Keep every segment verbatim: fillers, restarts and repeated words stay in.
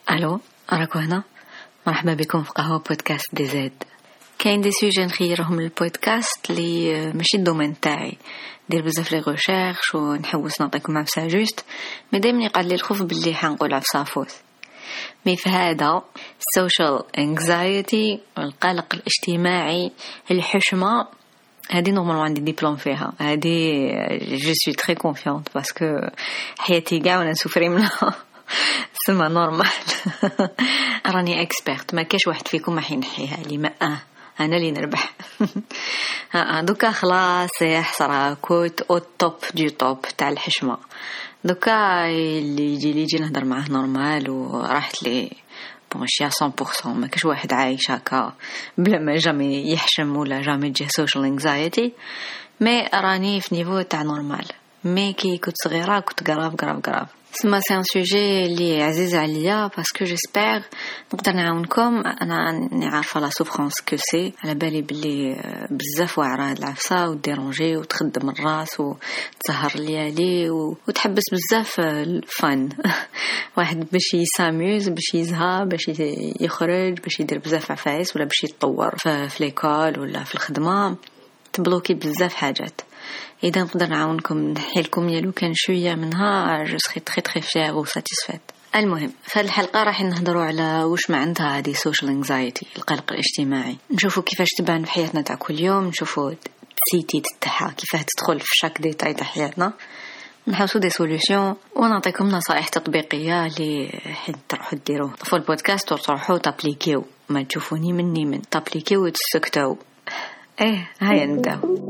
الو، راكو هنا. مرحبا بكم في قهوه بودكاست دي زاد. كاين دي سوجي نخيرهم للبودكاست اللي ماشي الدومين تاعي، ندير بزاف لي ريشيرش ونحوس نعطيكم عفسه جوست، مي دائما يقعد لي الخوف باللي حنقول عفسه فوت. مي في هذا السوشيال انكزايتي والقلق الاجتماعي، الحشمه هذه نورمال عندي ديبلوم فيها، هذه جو سوي تري كونفيونت باسكو حياتي كاع وانا نسوفري منها. سما نورمال. راني اكسبرت، ما كاش واحد فيكم ما حينحيها لي، ما اه انا اللي نربح. دوكا خلاص يا حسره كوت او توب دي توب تاع الحشمه. دوكا اللي يجي لي يجي نهضر معاه نورمال وراحت لي ماشي مية بالمية. ما كاش واحد عايش هكا بلا ما جامي يحشم ولا جامي تجيه سوشيال انكزايتي، مي راني في نيفو تاع نورمال. مي كي كنت صغيره كنت غراف غراف غراف. سما سي ان سوجي اللي عزيز عليا باسكو جيسبر نقدر نعاونكم. انا عارفه لا سوفرانس كو سي، على بالي بلي بزاف واعره هاد العفسه وديرونجي وتخدم الراس وتسهر الليالي وتحبس بزاف الفن. واحد باش يساميوز، باش يزهى، باش يخرج، باش يدير بزاف عفايس ولا باش يتطور في ليكول ولا في الخدمه، تبلوكي بزاف حاجات. اذا نقدر نعاونكم نحي لكم يالو كان شويه منها، جو سري تري تري فيير و ساتيسفيت. المهم في هذه الحلقه راح نهضروا على واش معناتها هذه سوشيال انكزايتي، القلق الاجتماعي. نشوفوا كيفاش تبان في حياتنا تاع كل يوم، نشوفوا سيتي تاعها كيفاه تدخل في شاك ديتاي تاع حياتنا، نحاولوا دي سوليوشن ونعطيكم نصائح تطبيقيه اللي حد تروحوا ديروه في البودكاست وتروحوا تابليكيو. ما تشوفوني مني من تابليكيو وتسكتوا. ايه هيا نبداو.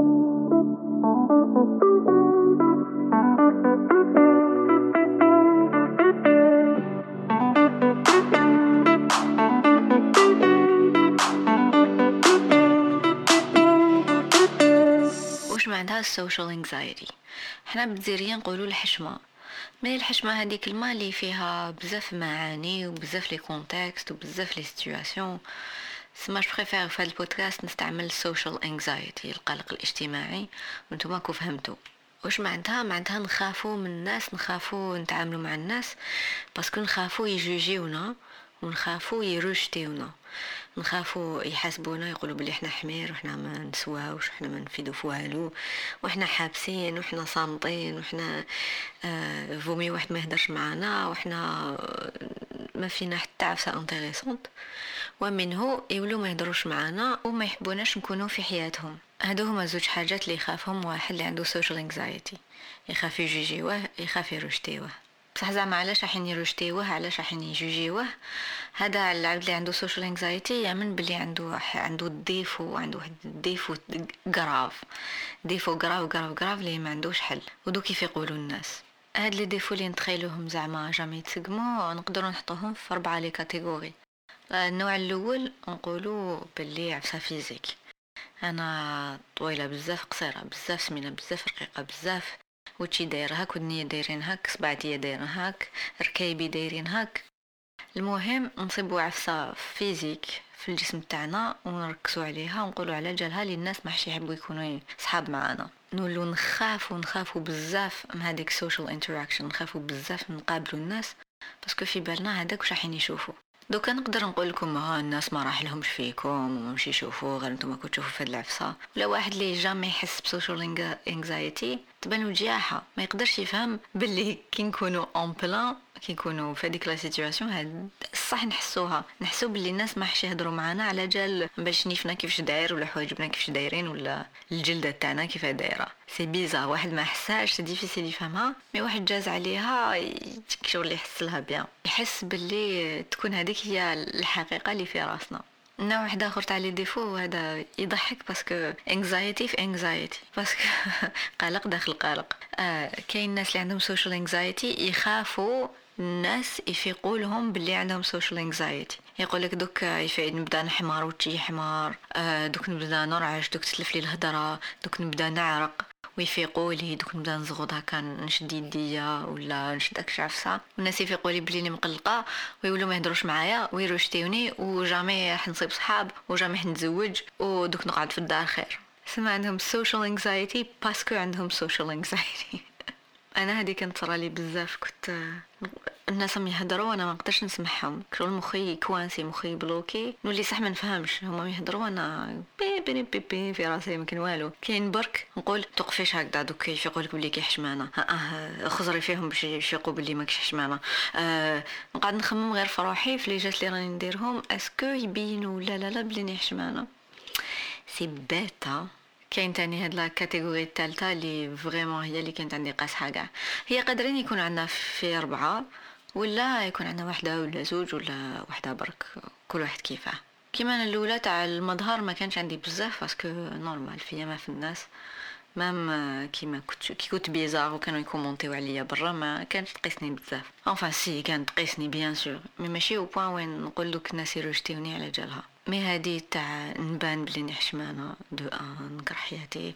عندها السوشيال انكزايتي. احنا بالجزائريين نقولوا الحشمه، مي الحشمه هذه كلمه اللي فيها بزاف معاني وبزاف لي كونتكست وبزاف لي سيتوياسيون. سما جو بريفير في هذا البودكاست نستعمل السوشيال انكزايتي، القلق الاجتماعي، وانتم كيف فهمتوا واش معناتها. معناتها نخافوا من الناس، نخافوا نتعاملوا مع الناس باسكو نخافوا يجوجيونا ونخافوا يروجتيونا، نخافوا يحاسبونا يقولوا بلي احنا حمير وحنا ما نسواوش وحنا ما نفيدوا في والو وحنا حابسين وحنا صامتين وحنا آه فومي واحد ما يهدرش معنا وحنا ما فينا حتى عفسه انتريسونت، ومنه يولوا ما يهدروش معنا وما يحبوناش نكونوا في حياتهم. هادو هما زوج حاجات اللي يخافهم واحد اللي عنده سوشيال انكزايتي، يخاف يجيجيوه، يخاف يروجتيوه. بصح زعما علاش راحين يروجتيوه، علاش راحين يجوجيوه؟ هذا العبد اللي عنده سوشيال انكزايتي يامن باللي عنده عنده ديفو، عنده واحد ديفو غراف، ديفو غراف غراف غراف اللي ما عندوش حل. ودو كيف يقولوا الناس هاد لي ديفو اللي نتخيلوهم زعما جامي يتسقموا، نقدروا نحطوهم في اربعه لي كاتيجوري. النوع الاول نقولوا باللي عفسه فيزيك، انا طويله بزاف، قصيره بزاف، سمينه بزاف، رقيقه بزاف، وشي داير هاك، ودنيا دايرين هاك، صبعتي دايرين هاك، ركايبي دايرين هاك. المهم نصيبوا عفسه فيزيك في الجسم تاعنا ونركزوا عليها ونقولوا على جالها اللي الناس ما حش يحبوا يكونوا صحاب معنا. نولوا نخافوا نخافوا بزاف من هذيك السوشيال انتراكشن، نخافوا بزاف نقابلوا الناس باسكو في بالنا هذاك واش راح يشوفوا. دوكا نقدر نقول لكم ها الناس ما راح لهمش فيكم وما مشي يشوفوا غير نتوما كنتوا تشوفوا في هاد العفسه. ولا واحد اللي جامي يحس بسوشيال انكزايتي تبان وجاحه، ما يقدرش يفهم باللي كي نكونوا اون بلان، كي نكونوا في هذيك لا سيتوياسيون هاد صح نحسوها، نحسوا باللي الناس ما حش يهضروا معنا على جال باش نيفنا كيفاش داير ولا حوايجنا كيفاش دايرين ولا الجلده تاعنا كيف دايره. سي بيزار، واحد ما حساش، سي ديفيسيل يفهمها، مي واحد جاز عليها شغل يحس لها بيان، يحس باللي تكون هذيك هي الحقيقه اللي في راسنا. نوع واحد اخر تاع لي ديفو هذا يضحك باسكو انكزايتي في انكزايتي، باسكو قلق داخل قلق. آه كاين الناس اللي عندهم سوشيال انكزايتي يخافوا الناس يفيقوا لهم باللي عندهم سوشيال انكزايتي، يقول لك دوك يفيد نبدا نحمر وتجي حمار، آه دوك نبدا نرعش، دوك تسلف لي الهضره، دوك نبدا نعرق، ويفيقوا لي دوك نبدا نزغد هكا نشد يديا ولا نشد داك العفسه، والناس يفيقوا لي بلي مقلقه ويقولوا ما يهضروش معايا ويروشتيوني وجامي حنصيب صحاب وجامي حنتزوج ودوك نقعد في الدار خير. سما عندهم سوشيال انكزايتي باسكو عندهم سوشيال انكزايتي. انا هذه كانت صرا لي بزاف، كنت الناس هم يهدروا وانا ما نقدرش نسمعهم، كل مخي كوانسي، مخي بلوكي، نولي صح ما نفهمش هما يهدروا وانا بي بي بي بي في راسي ما كان والو. كاين برك نقول توقفيش هكذا دوك كيف يقولك بلي كي حشمانه، اه خزري فيهم باش يفيقوا بلي ماكش حشمانه. آه نقعد نخمم غير في روحي في لي جات اللي راني نديرهم اسكو يبينوا لا لا لا بلي ني حشمانه. سي بيتا. كاين تاني هاد لا كاتيجوري الثالثه اللي فريمون هي اللي كانت عندي قاسحه كاع. هي قادرين يكون عندنا في اربعه ولا يكون عندنا واحده ولا زوج ولا واحده برك، كل واحد كيفاه. كيما انا الاولى تاع المظهر ما كانش عندي بزاف باسكو نورمال فيا ما في الناس، مام كيما كنت كي كنت بيزار وكانوا يكومونتيو عليا برا ما كانش تقيسني بزاف. انفا سي كانت تقيسني بيان سور، مي ماشي او بوين وين نقول لك الناس يرجتوني على جالها. مي هادي تاع نبان بلي نحشمانه دو ان نكره حياتي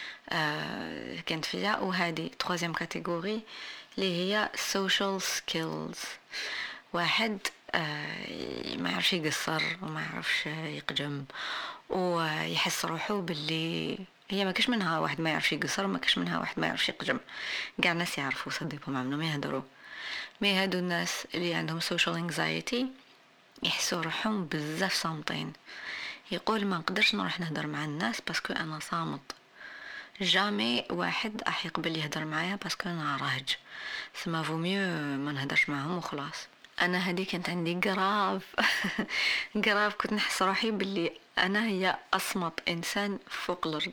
آه كانت فيا. وهذه تروازيام كاتيجوري اللي هي social skills. واحد آه ما يعرفش يقصر وما يعرفش يقجم ويحس روحه باللي هي ما كاش منها واحد ما يعرفش يقصر وما كاش منها واحد ما يعرفش يقجم، كاع الناس يعرفوا صديقهم عملوا ما يهدروا. مي هادو الناس اللي عندهم social anxiety يحسوا روحهم بزاف صامتين، يقول ما نقدرش نروح نهدر مع الناس باسكو انا صامت، جامي واحد راح يقبل يهدر معايا باسكو انا راهج، سما فو ميو ما نهدرش معهم وخلاص. انا هذه كانت عندي غراف غراف كنت نحس روحي باللي انا هي اصمت انسان فوق الارض،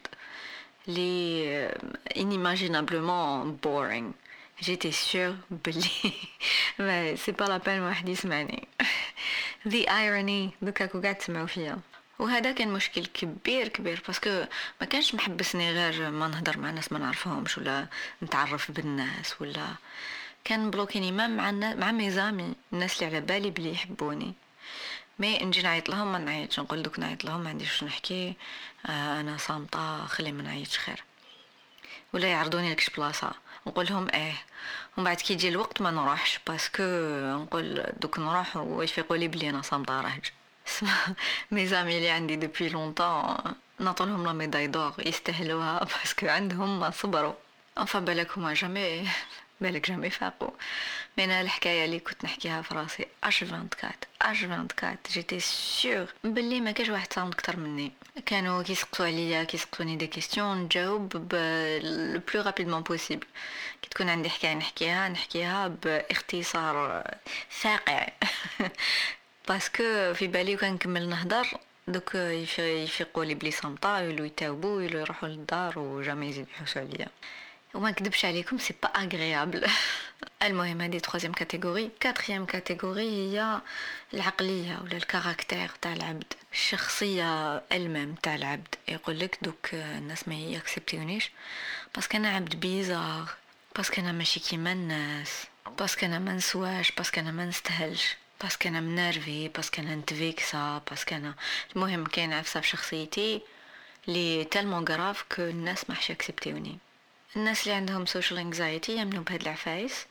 لي inimaginablement boring. جيتي سيغ بلي ما سي با لا بين واحد يسمعني. the irony دوكا كو قاعد تسمعوا فيها. وهذا كان مشكل كبير كبير باسكو ما كانش محبسني غير ما نهضر مع ناس ما نعرفهمش ولا نتعرف بالناس، ولا كان بلوكيني ما مع مع ميزامي الناس اللي على بالي بلي يحبوني. مي نجي نعيط لهم ما نعيطش، نقول دوك نعيط لهم ما عنديش نحكي، آه انا صامته خلي ما نعيطش خير. ولا يعرضوني لكش بلاصه نقول لهم ايه، ومن بعد كي يجي الوقت ما نروحش باسكو نقول دوك نروح ويفيقوا لي بلي انا صامته راهج. اسمع مي زامي اللي عندي دوبي لونطون نعطولهم لا ميداي دور، يستاهلوها باسكو عندهم صبروا. انفا بالك هما جامي بالك جامي فاقوا. من الحكايه اللي كنت نحكيها في راسي اش أربعة وعشرين اش أربعة وعشرين جيتي سيغ بلي ما كاش واحد صامت اكثر مني. كانوا كيسقطوا عليا كيسقطوني دي كيستيون نجاوب ب لو بلو رابيدمون بوسيبل. كي تكون عندي حكايه نحكيها نحكيها باختصار فاقع باسكو في بالي وكان نكمل نهضر دوك يفيقوا لي بلي صامته يولوا يتاوبوا يولوا يروحوا للدار وجامي يزيدوا يحوسوا عليا. وما نكذبش عليكم سي با اغريابل. المهم هذه تروازيام كاتيجوري. كاتريام كاتيجوري هي العقليه ولا الكاركتير تاع العبد، الشخصيه المام تاع العبد. يقول لك دوك الناس ما ياكسبتونيش باسكو انا عبد بيزار، باسكو انا ماشي كيما الناس، باسكو انا ما نسواش، باسكو انا ما نستاهلش، باسكو انا منرفي، باسكو انا نتفيكسا، باسكو انا المهم كاين عفسه في شخصيتي لي تالمون غراف كو الناس ما حش ياكسبتوني. الناس اللي عندهم social anxiety يمنوا بهاد العفايس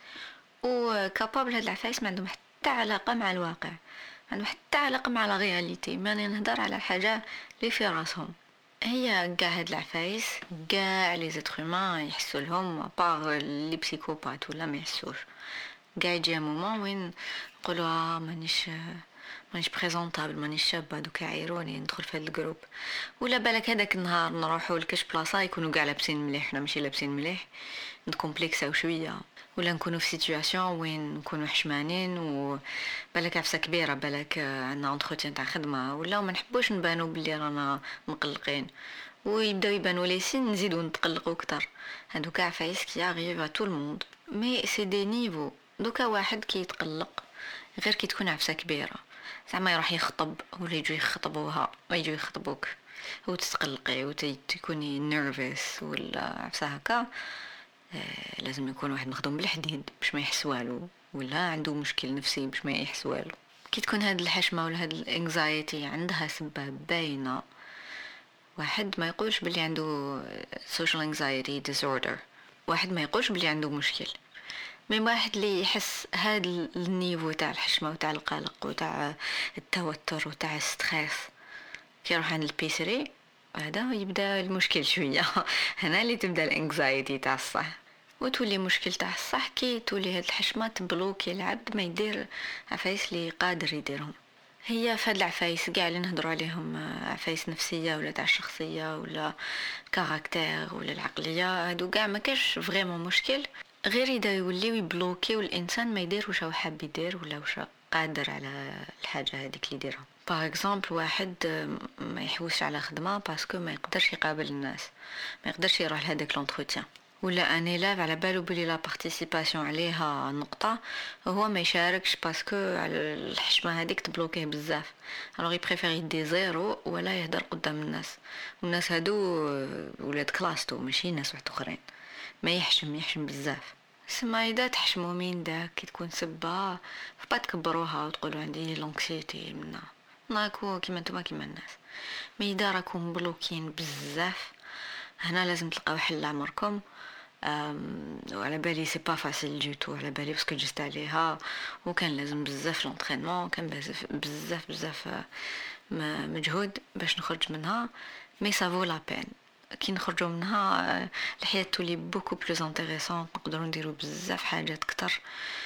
وكابابل هاد العفايس ما عندهم حتى علاقة مع الواقع، ما عندهم حتى علاقة مع الرياليتي، ماني نهدر على الحاجة اللي في راسهم. هي قاع هاد العفايس قاع لي زيترومان يحسوا لهم باغ لي بسيكوبات ولا ما يحسوش. قاع يجي مومون وين نقولوا مانيش مانيش بريزونطابل، مانيش شابه دوك عيروني ندخل في هذا الجروب. ولا بالك هذاك النهار نروحوا لكاش بلاصه يكونوا كاع لابسين مليح حنا ماشي لابسين مليح نكومبلكساو شويه، ولا نكونوا في سيتوياسيون وين نكونوا حشمانين وبالك عفسه كبيره، بالك عندنا انتروتيان تاع خدمه ولا ما نحبوش نبانوا بلي رانا مقلقين ويبداو يبانوا لي سين نزيدوا نتقلقوا اكثر. هادوك عفايس كي arrive à tout le monde مي سي دي نيفو. دوكا واحد كي يتقلق غير كي تكون عفسه كبيره زعما يروح يخطب ولا يجوا يخطبوها ويجوا يخطبوك وتتقلقي وتكوني نيرفيس ولا عفسه هكا، آه لازم يكون واحد مخدوم بالحديد باش ما يحس والو، ولا عنده مشكل نفسي باش ما يحس والو. كي تكون هاد الحشمه ولا هاد الانكزايتي عندها سبب باينه، واحد ما يقولش بلي عنده social anxiety disorder، واحد ما يقولش بلي عنده مشكل. من واحد اللي يحس هاد النيفو تاع الحشمه وتاع القلق وتاع التوتر وتاع الستريس كي يروح عند البيسري هذا يبدا المشكل شويه. هنا اللي تبدا الانكزايتي تاع الصح. وتولي مشكل تاع الصح كي تولي هاد الحشمه تبلوكي العبد ما يدير عفايس اللي قادر يديرهم. هي فهاد العفايس كاع اللي نهضروا عليهم آه، عفايس نفسيه ولا تاع الشخصيه ولا كاركتير ولا العقليه، هادو كاع ما كاش فريمون مشكل غير اذا يوليو يبلوكيو الانسان ما يدير واش هو حاب يدير ولا واش قادر على الحاجه هذيك اللي يديرها. باغ اكزومبل واحد آه، ما يحوسش على خدمه باسكو ما يقدرش يقابل الناس، ما يقدرش يروح لهذاك لونتروتيان، ولا ان ايلاف على بالو بلي لا بارتيسيباسيون عليها نقطه هو ما يشاركش باسكو على الحشمه هذيك تبلوكيه بزاف، الوغ يبريفير يدي زيرو ولا يهدر قدام الناس، والناس هادو ولاد كلاستو ماشي ناس واحد اخرين، ما يحشم يحشم بزاف. سما اذا تحشموا مين داك كي تكون سبه فبا تكبروها وتقولوا عندي لونكسيتي منا ناكو كيما نتوما كيما الناس، مي اذا راكم بلوكين بزاف هنا لازم تلقاو حل عمركم. وعلى بالي سي با فاسيل دو تو، على بالي باسكو جست عليها وكان لازم بزاف لونطرينمون، كان بزاف بزاف بزاف مجهود باش نخرج منها، مي سافو لا بين. كي نخرجوا منها الحياه تولي بوكو بلوز انتريسون، نقدروا نديروا بزاف حاجات اكثر.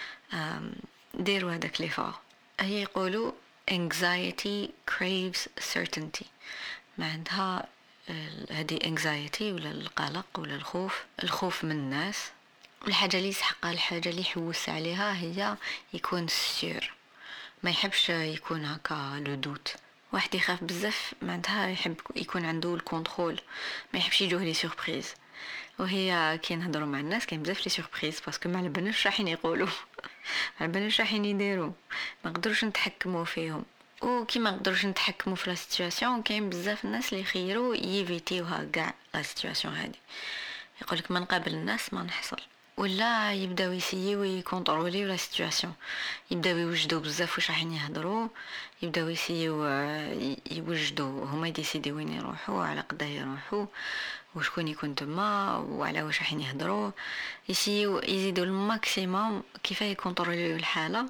ديروا هذاك لي فور. هي يقولوا anxiety craves certainty، معناتها هذه anxiety ولا القلق ولا الخوف، الخوف من الناس، الحاجه اللي يسحقها الحاجه اللي يحوس عليها هي يكون سير، ما يحبش يكون هكا لو دوت. واحد يخاف بزاف معناتها يحب يكون عنده الكنترول، ما يحبش يجوه لي سوربريز، وهي كي نهضروا مع الناس كاين بزاف لي سوربريز باسكو ما على بالناش راحين يقولوا على بالناش راحين يديروا، ما نقدروش نتحكموا فيهم. وكي ما نقدروش نتحكموا في لا سيتوياسيون كاين بزاف الناس اللي يخيروا يفيتيوها كاع لا سيتوياسيون هذه، يقولك ما نقابل الناس ما نحصل، ولا يبداو يسيو يكونتروليو لا سيتوياسيون، يبداو يوجدوا بزاف واش راحين يهضروا، يبداو يسيو يوجدوا هما يديسيديو وين يروحوا على قدا يروحوا وشكون يكون تما وعلى واش راحين يهضروا، يسيو يزيدوا الماكسيموم كيف يكونتروليو الحاله.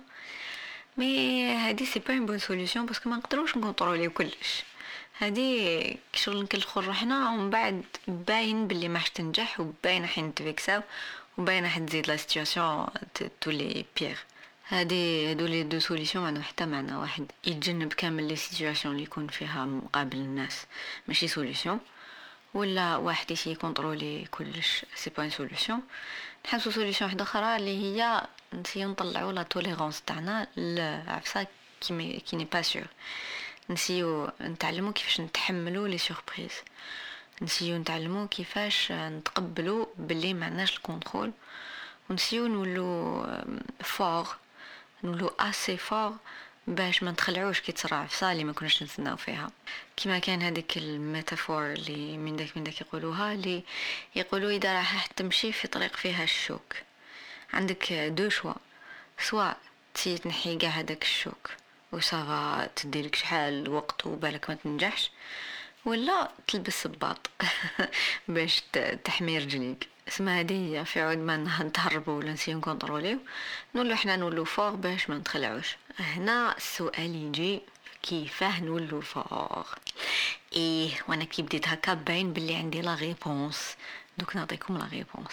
مي هادي سي با اون بون سوليوشن باسكو ما نقدروش نكونتروليو كلش، هادي شغل نكلخوا روحنا ومن بعد باين باللي ما تنجح وباين حين نتفيكساو وباين حين تزيد لا سيتوياسيون تولي بيغ. هادي هادو لي دو سوليوشن ما عندهم حتى معنى، واحد يتجنب كامل لي سيتوياسيون اللي يكون فيها مقابل الناس ماشي سوليوشن، ولا واحد يسي يكونترولي كلش سي با سوليوشن. نحسو سوليوشن واحده اخرى اللي هي نسيو نطلعوا لا توليرانس تاعنا لعفسا كي كي ني با سور، نسيو نتعلموا كيفاش نتحملوا لي سوربريز، نسيو نتعلموا كيفاش نتقبلوا باللي معناش الكونترول، ونسيو نولو فور نولو اسي فور باش ما نتخلعوش كي تصرا عفسه اللي ما كناش نتسناو فيها. كما كان هذيك الميتافور اللي من داك من داك يقولوها، اللي يقولوا اذا راح تمشي في طريق فيها الشوك عندك دو شوا، سواء تي تنحي كاع هذاك الشوك وصافا تديلك شحال وقت وبالك ما تنجحش، ولا تلبس صباط باش تحمي رجليك. اسمها هذه في عود ما نتهربوا ولا نسيو نكونتروليو نقولوا احنا نولوا فوق باش ما نتخلعوش. هنا السؤال يجي كيفاه نولوا فوق؟ ايه وانا كي بديت هكا باين باللي عندي لا ريبونس، دوك نعطيكم لا ريبونس.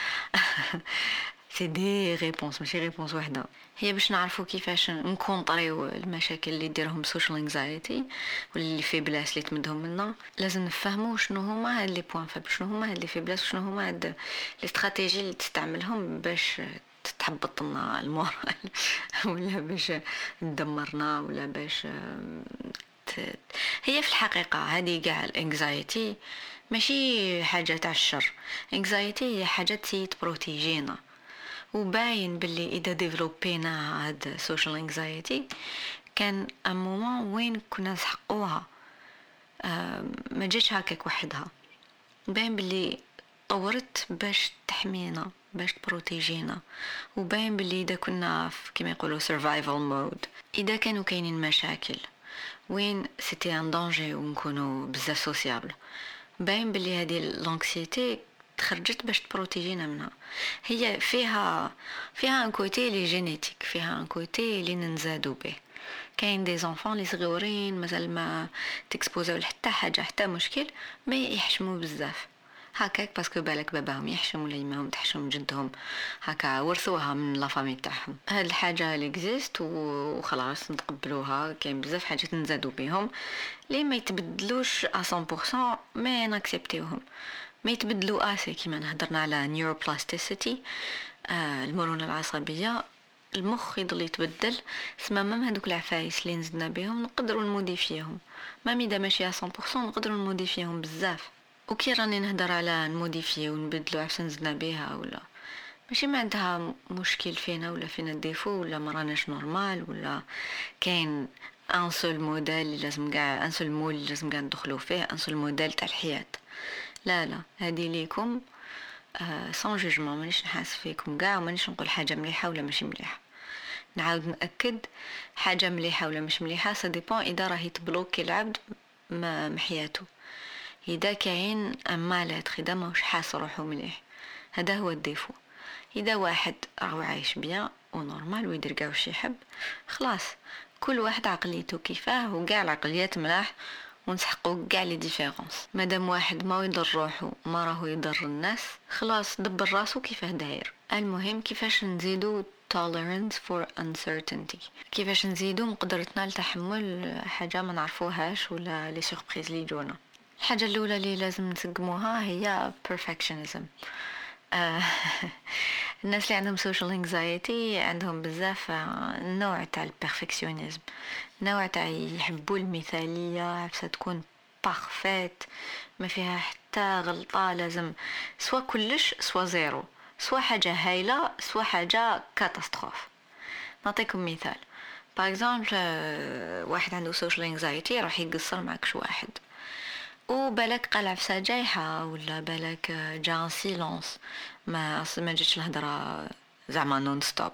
سي دي ريبونس ماشي ريبونس وحده، هي باش نعرفوا كيفاش نكونطريو المشاكل اللي ديرهم سوشيال انكزايتي واللي في بلاس اللي تمدهم منا. لازم نفهموا شنو هما هاد لي بوين فابل، شنو هما هاد لي في بلاس، شنو هما هاد لي استراتيجي اللي تستعملهم باش تحبط لنا المورال ولا باش تدمرنا ولا باش ت... هي في الحقيقه هذه كاع الانكزايتي ماشي حاجه تاع الشر، انكزايتي هي حاجه تي تبروتيجينا، وباين باللي اذا ديفلوبينا هاد سوشيال انكزايتي كان ان مومون وين كنا نسحقوها، ما جاتش هكاك وحدها، باين باللي طورت باش تحمينا باش تبروتيجينا، وباين باللي اذا كنا كما يقولوا سرفايفل مود، اذا كانوا كاينين مشاكل وين سيتي ان دانجي ونكونوا بزاف سوسيابل، باين باللي هذه لانكسيتي تخرجت باش تبروتيجينا منها. هي فيها فيها ان كوتي لي جينيتيك، فيها ان كوتي اللي ننزادوا به. كاين دي زونفون لي صغيورين مازال ما تكسبوزاو لحتى حاجه حتى مشكل ما يحشموا بزاف، هكاك باسكو بالك باباهم يحشم ولا يماهم تحشم جدهم هكا ورثوها من لا فامي تاعهم. هاد الحاجه اللي اكزيست وخلاص نتقبلوها. كاين بزاف حاجات نزادو بهم لي ما يتبدلوش مية بالمية ما ناكسبتيوهم، ما يتبدلوا اسي. كيما نهضرنا على نيوروبلاستيسيتي، آه المرونه العصبيه، المخ يضل يتبدل. سما مام هذوك العفايس اللي نزدنا بهم نقدروا نموديفيهم، ما ميدا ماشي مية بالمية نقدروا نموديفيهم بزاف. وكي راني نهدر على نموديفيو ونبدلو عشان نزدنا بها ولا ماشي ما عندها مشكل فينا ولا فينا ديفو ولا ما راناش نورمال ولا كاين ان سول موديل اللي لازم كاع ان سول مول اللي لازم كاع ندخلو فيه ان سول موديل تاع الحياه. لا لا هذه ليكم آه سون جوجمون، مانيش نحاس فيكم كاع ومانيش نقول حاجه مليحه ولا ماشي مليحه. نعاود ناكد حاجه مليحه ولا مش مليحه سا ديبون اذا راهي تبلوكي العبد ما محياته، اذا كاين اما لا تخدا ماهوش حاس روحو مليح، هذا هو الديفو. اذا واحد راهو عايش بيان ونورمال ويدير كاع واش يحب خلاص، كل واحد عقليته كيفاه وكاع العقليات ملاح ونسحقوا كاع لي ديفيرونس. مادام واحد ما يضر روحه ما راهو يضر الناس خلاص دبر راسو كيفاه داير. المهم كيفاش نزيدو tolerance for uncertainty، كيفاش نزيدو مقدرتنا لتحمل حاجه ما نعرفوهاش ولا لي سوربريز اللي يجونا. الحاجه الاولى اللي لازم نسقموها هي perfectionism. آه، الناس اللي عندهم social anxiety عندهم بزاف نوع تاع البرفكشنزم، نوع تاع يحبوا المثاليه عفسه تكون بارفيت ما فيها حتى غلطه، لازم سوا كلش سوا زيرو، سوا حاجه هايله سوا حاجه كاتاستروف. نعطيكم مثال. باغ اكزومبل واحد عنده social anxiety راح يقصر معك شو واحد وبالك قال عفسه جايحه ولا بالك جا سيلونس ما اصلا ما جاتش الهضره زعما نون ستوب،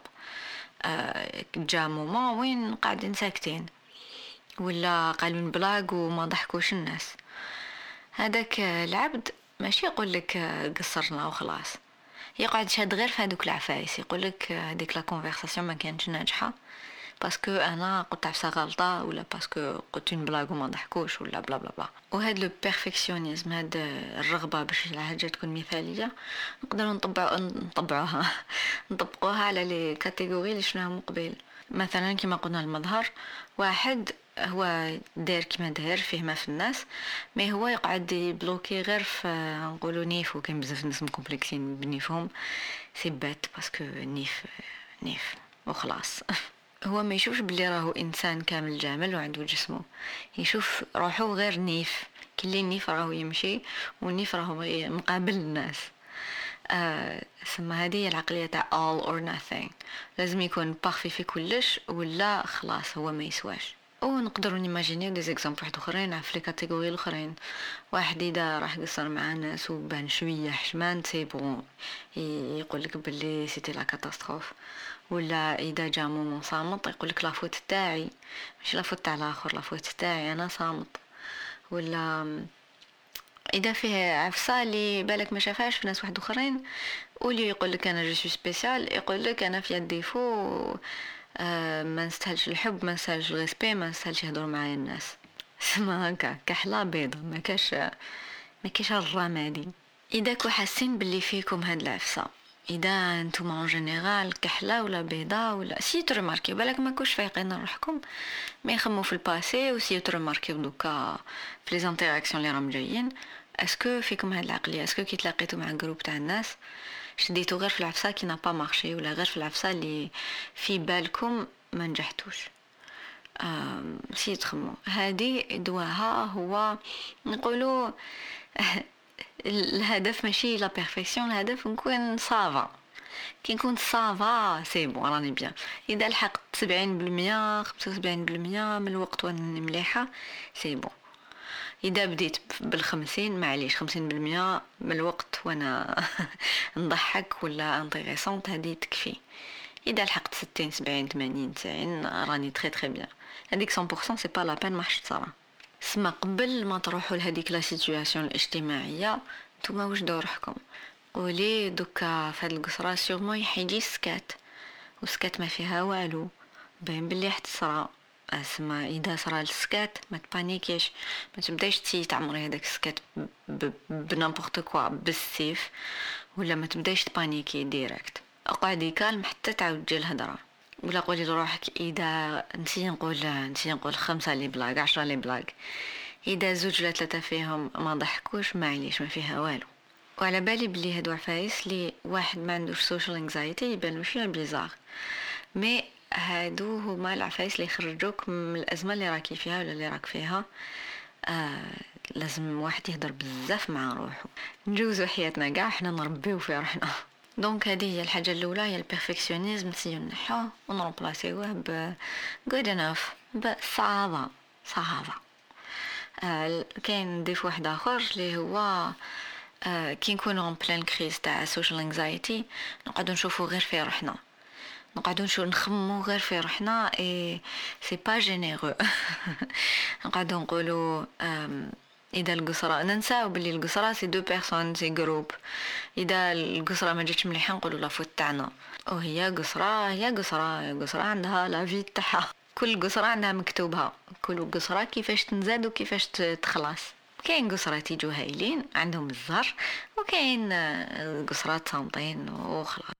جا مومون وين قاعدين ساكتين ولا قالوا بلاغ وما ضحكوش الناس. هذاك العبد ماشي يقول لك قصرنا وخلاص، يقعد شاد غير في هذوك العفايس يقول لك هذيك لا كونفرساسيون ما كانتش ناجحه باسكو انا قلت عفسه غلطه ولا باسكو قلت بلاغ وما ضحكوش ولا بلا بلا بلا. وهذا لو بيرفكسيونيزم، هذا الرغبه باش الحاجه تكون مثاليه نقدروا نطبعوا نطبعوها نطبقوها على لي كاتيجوري اللي شفناهم قبل. مثلا كما قلنا المظهر، واحد هو داير كما داير فيه ما في الناس ما هو يقعد يبلوكي غير في نقولوا نيف، وكاين بزاف ناس مكومبلكسين بنيفهم سي بات باسكو نيف نيف وخلاص. هو ما يشوفش بلي راهو انسان كامل جامل وعنده جسمه، يشوف روحه غير نيف، كل النيف راهو يمشي والنيف راهو مقابل الناس. آه سما هذه العقليه تاع all or nothing، لازم يكون بارفي في كلش ولا خلاص هو ما يسواش. ونقدروا نيماجينيو دي زيكزامبل واحد اخرين في لي كاتيجوري الاخرين. واحد اذا راح قصر مع الناس وبان شويه حشمان سي بون يقول لك بلي سيتي لا كاتاستروف، ولا اذا جا مومون صامت يقول لك لافوت تاعي مش لافوت تاع الاخر، لافوت تاعي انا صامت. ولا اذا فيه عفسه اللي بالك ما شافهاش في ناس واحد اخرين واللي يقول لك انا جو سوي سبيسيال، يقول لك انا في ديفو آه ما نستاهلش الحب ما نستاهلش الريسبي ما نستاهلش يهضروا معايا الناس. سما هكا كحله بيضه ما كاش ما كاش الرمادي. اذا كو حاسين باللي فيكم هاد العفسه، اذا انتم اون جينيرال كحله ولا بيضه ولا سي ترماركي بالك ما كوش فايقين روحكم ما يخمو في الباسي وسي ترماركي دوكا في لي زانتيراكسيون اللي راهم جايين اسكو فيكم هاد العقليه، اسكو كي تلاقيتوا مع جروب تاع الناس شديتوا غير في العفسه كي نا با مارشي ولا غير في العفسه اللي في بالكم ما نجحتوش. آم سي تخمو هذه دواها هو نقولوا الهدف ماشي لا بيرفكسيون، الهدف نكون صافا. كي نكون صافا سي بون راني بيان. اذا لحقت سبعين بالمية خمسة وسبعين بالمية من الوقت وانا مليحه سي بون. اذا بديت بالخمسين معليش خمسين بالمية من الوقت وانا نضحك ولا انتريسونت هذه تكفي. اذا لحقت ستين سبعين ثمانين تسعين راني تري تري بيان. هذيك مية بالمية سي با لا بين ما حش تصرا. سما قبل ما تروحوا لهذيك لا سيتوياسيون الاجتماعيه نتوما واش دوركم؟ قولي دوكا في هاد القصره سيغمون يحيدي السكات، وسكات ما فيها والو باين بلي حتصرا اسمع اذا صرا السكات ما تبانيكيش، ما تبداش تي تعمري هذاك السكات بنامبورط كوا بالسيف، ولا ما تبداش تبانيكي ديريكت. اقعدي كالم حتى تعاود تجي الهضره، ولا قولي لروحك اذا نسي نقول نسي نقول خمسة لي بلاك عشرة لي بلاك، اذا زوج ولا ثلاثه فيهم ما ضحكوش معليش ما فيها والو. وعلى بالي بلي هادو عفايس لي واحد ما عندوش سوشيال انكزايتي يبانو شويه بيزار، مي هادو هما العفايس اللي يخرجوك من الازمه اللي راكي فيها ولا اللي راك فيها. آه لازم واحد يهدر بزاف مع روحه، نجوزو حياتنا كاع حنا نربيو في روحنا. دونك هذه هي الحاجه الاولى، هي البيرفكسيونيزم، نسيو نحوه ونرومبلاسيوه ب good enough، بصعبه صعبه. آه كاين نضيف واحد اخر اللي هو آه كي نكونوا ان بلان كريز تاع سوشيال انكزايتي نقعدوا نشوفوا غير في روحنا، نقعدوا نشوفوا نخمموا غير في روحنا، اي سي با جينيرو. نقعدوا نقولوا اذا القصره ننساو باللي القصره سي دو بيرسون سي جروب، اذا القصره ما جاتش مليحه نقولوا لا فوت تاعنا، وهي قصره هي قصره قصره عندها لا في تاعها، كل قصره عندها مكتوبها، كل قصره كيفاش تنزاد وكيفاش تخلص. كاين قصرات يجوا هايلين عندهم الزهر، وكاين قصرات صامتين وخلاص.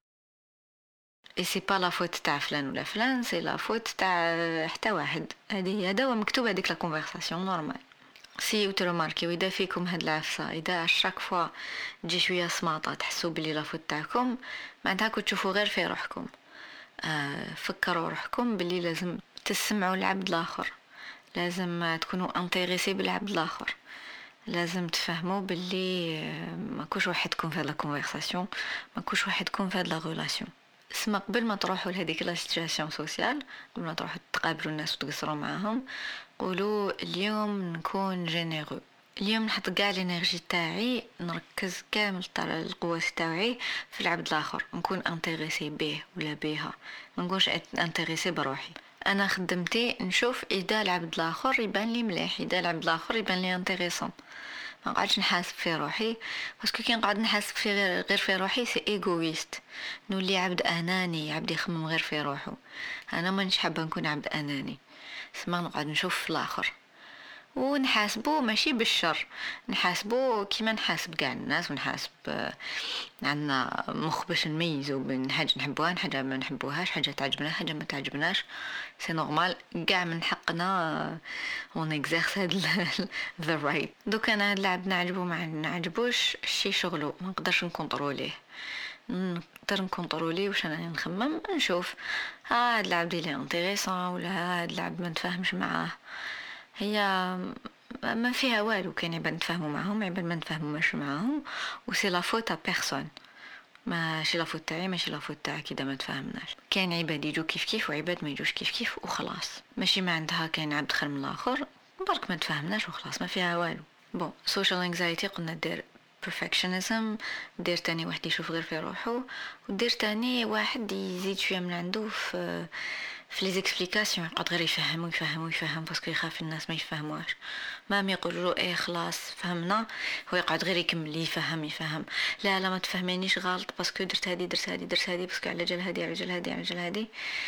اي سي با لا فوت تاع فلان ولا فلان، سي لا فوت تاع حتى واحد. هذه هذا هو مكتوب هذيك لا كونفرساسيون نورمال. سي وترماركي واذا فيكم هاد العفسه، اذا شاك فوا تجي شويه سماطه تحسوا بلي لا فوت تاعكم، معناتها كنتوا تشوفوا غير في روحكم. آه فكروا روحكم بلي لازم تسمعوا العبد الاخر، لازم تكونوا انتريسي بالعبد الاخر، لازم تفهموا باللي ما كوش وحدكم في هذا لا كونفرساسيون، ما كوش وحدكم في هذا لا ريلاسيون. اسمع قبل ما تروحوا لهذيك لا سيتوياسيون سوسيال، قبل ما تروحوا تقابلوا الناس وتقصروا معاهم، قولوا اليوم نكون جينيرو، اليوم نحط كاع الانرجي تاعي، نركز كامل تاع القوه تاعي في العبد الاخر، نكون انتريسي به ولا بها، ما نكونش انتريسي بروحي. انا خدمتي نشوف اذا العبد الاخر يبان لي مليح، اذا العبد الاخر يبان لي انتريسون، ما قاعدش نحاسب في روحي، باسكو كي نقعد نحاسب في غير, غير في روحي سي ايغويست، نولي عبد اناني، عبد يخمم غير في روحه. انا مانيش حابه نكون عبد اناني، اسمع نقعد نشوف في الاخر ونحاسبه ماشي بالشر، نحاسبه كيما نحاسب كاع الناس، ونحاسب عندنا مخ باش نميزو بين حاجه نحبوها حاجه ما نحبوهاش، حاجه تعجبنا حاجه ما تعجبناش، سي نورمال كاع من حقنا اون اكزيرس هاد ذا رايت. دوك انا هاد اللعب نعجبو ما نعجبوش شي شغلو، ما نقدرش نكونتروليه، نقدر نكونترولي واش انا نخمم، نشوف ها هاد اللعب ديالي انتريسون ولا هاد اللعب ما نتفاهمش معاه، هي ما فيها والو. كاين عباد نتفاهموا معاهم، عباد ما نتفاهموش معاهم، وسي لا فوت ا بيرسون، ماشي لا فوت تاعي ماشي لا فوت تاعك اذا ما تفاهمناش. كاين عباد يجوا كيف كيف وعباد ما يجوش كيف كيف وخلاص، ماشي ما عندها كاين عبد خير من الاخر، برك ما تفاهمناش وخلاص ما فيها والو. بون سوشيال انكزايتي قلنا دير perfectionism، دير تاني واحد يشوف غير في روحه، ودير تاني واحد يزيد شويه من عنده في في لي زيكسبليكاسيون، يقعد غير يفهم ويفهم ويفهم باسكو يخاف الناس ما يفهموهاش، ما يقولوا له ايه خلاص فهمنا، هو يقعد غير يكمل يفهم يفهم، لا لا ما تفهمينيش غلط باسكو درت هذه درت هذه درت هذه باسكو على جال هذه على جال هذه على جال هذه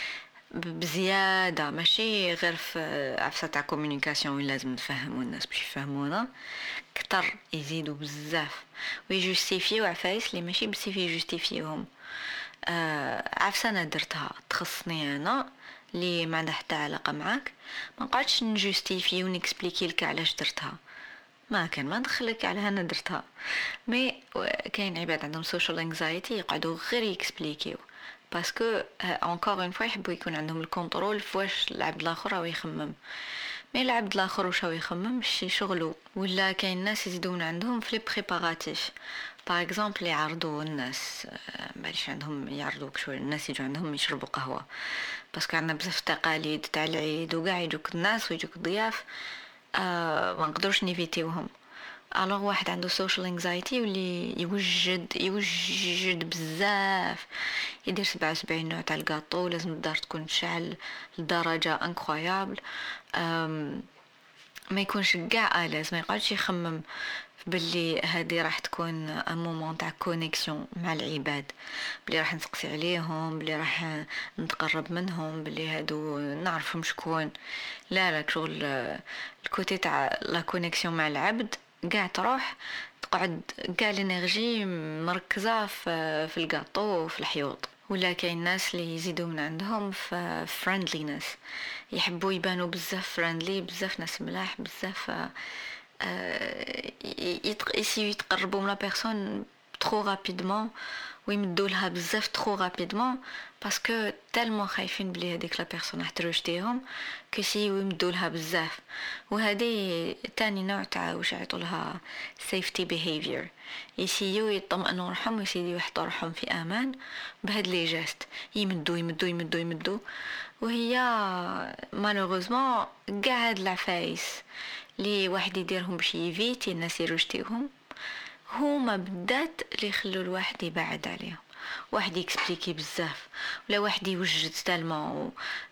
بزياده، ماشي غير في عفسه تاع كومونيكاسيون وين لازم نفهموا الناس باش يفهمونا، كتر يزيدوا بزاف ويجوستيفيو عفايس اللي ماشي بزاف يجوستيفيوهم. آه عفسه انا درتها تخصني انا اللي ما عندها حتى علاقه معاك، ما نقعدش نجوستيفي ونكسبليكي لك علاش درتها، ما كان ما ندخلك على انا درتها. مي كاين عباد عندهم سوشيال انكزايتي يقعدوا غير يكسبليكيو باسكو انكور اون فوا يحبوا يكون عندهم الكونترول فواش العبد الاخر او يخمم، مي العبد الاخر واش هو يخمم شي شغله. ولا كاين ناس يزيدون عندهم في لي بريباراتيف، باغ اكزومبل يعرضوا الناس ماشي عندهم يعرضوك شويه، الناس يجوا عندهم يشربوا قهوه باسكو عندنا بزاف تقاليد تاع العيد وكاع يجوك الناس ويجوك ضياف، آه ما نقدرش نيفيتيوهم. الوغ واحد عنده سوشيال انكزايتي واللي يوجد يوجد بزاف، يدير سبعة وسبعين نوع تاع الكاطو، لازم الدار تكون تشعل لدرجه انكرويابل، ما يكونش كاع آلاز، ما يقعدش يخمم باللي هذه راح تكون ان مومون تاع كونيكسيون مع العباد، بلي راح نسقسي عليهم، بلي راح نتقرب منهم، بلي هادو نعرفهم شكون. لا لا، شغل الكوتي تاع لا كونيكسيون مع العبد قاع تروح تقعد قاع الانرجي مركزه في في الكاطو وفي الحيوط. ولا كاين ناس اللي يزيدوا من عندهم في فريندلينس، يحبوا يبانوا بزاف فريندلي، بزاف ناس ملاح، بزاف يسيو يتقربوا من لا بيرسون ترو رابيدمون ويمدوا لها بزاف ترو رابيدمون، باسكو تالمون خايفين بلي هذيك لا بيرسون راح تروجتيهم كيسيو يمدوا لها بزاف. وهذه تاني نوع تاع واش يعيطوا لها سيفتي بيهيفير، يسيو يطمئنوا روحهم ويسيو يحطوا روحهم في امان بهاد لي جيست، يمدوا يمدوا يمدوا يمدوا. وهي مالوغوزمون كاع هاد العفايس لي واحد يديرهم باش يفيتي الناس يروجتيهم هما بالذات اللي يخلوا الواحد يبعد عليهم. واحد يكسبليكي بزاف ولا واحد يوجد تالمون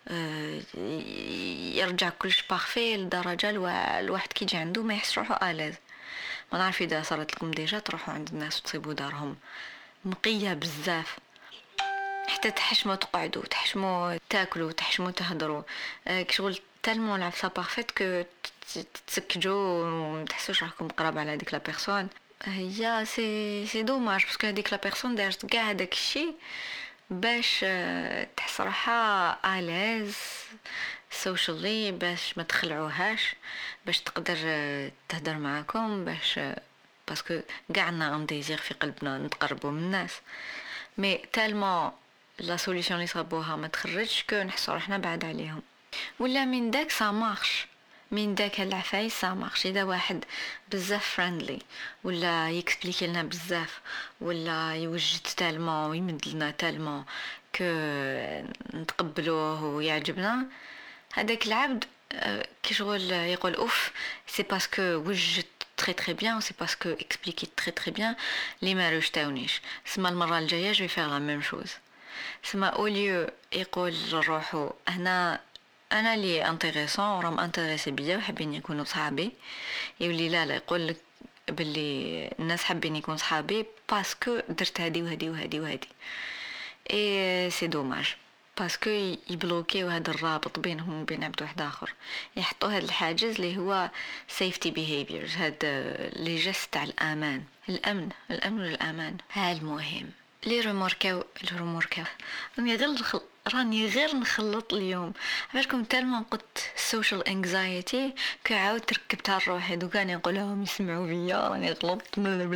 يرجع كلش بارفي لدرجه الواحد كي يجي عنده ما يحس روحو آلاز. ما نعرف اذا صارت لكم ديجا تروحوا عند الناس وتصيبوا دارهم نقيه بزاف، حتى تحشموا تقعدوا، تحشموا تاكلوا، تحشموا تهضروا، كشغل تالمون العفسه بارفيت كو تسكجوا وما تحسوش راكم قراب على هذيك لا بيرسون. هي سي سي دوماج باسكو هذيك لا بيرسون دارت كاع هذاك الشيء باش تحس روحها آلاز سوشيالي، باش ما تخلعوهاش، باش تقدر تهدر معاكم، باش باسكو كاع عندنا ان ديزير في قلبنا نتقربوا من الناس، مي تالمون لا سوليوشن اللي صابوها ما تخرجش كو نحسوا روحنا بعد عليهم. ولا من داك سا مارش، من داك العفايس سا مارش اذا واحد بزاف فريندلي ولا يكسبليكي لنا بزاف ولا يوجد تالمون ويمد لنا تالمون كو نتقبلوه ويعجبنا، هذاك العبد كي شغل يقول اوف سي باسكو وجد تري تري بيان، سي باسكو اكسبليكي تري تري بيان لي ما رجتاونيش، سما المره الجايه جو فيغ لا ميم شوز. سما اوليو يقول لروحو هنا انا لي انتريسون راهم انتريسي بيا وحابين يكونوا صحابي، يولي لا لا يقول لك باللي الناس حابين يكونوا صحابي باسكو درت هذه وهذه وهذه وهذه. اي سي دوماج باسكو يبلوكيو هذا الرابط بينهم وبين عبد واحد اخر، يحطوا هذا الحاجز اللي هو سيفتي بيهيفيرز، هذا لي جيست تاع الامان، الامن الامن والامان. ها المهم لي روموركاو الروموركاو راني غير نخل... راني غير نخلط اليوم عبالكم تالمون قلت سوشيال انكزايتي كعاود تركبتها لروحي دوكا نقولهم يسمعوا فيا راني غلطت.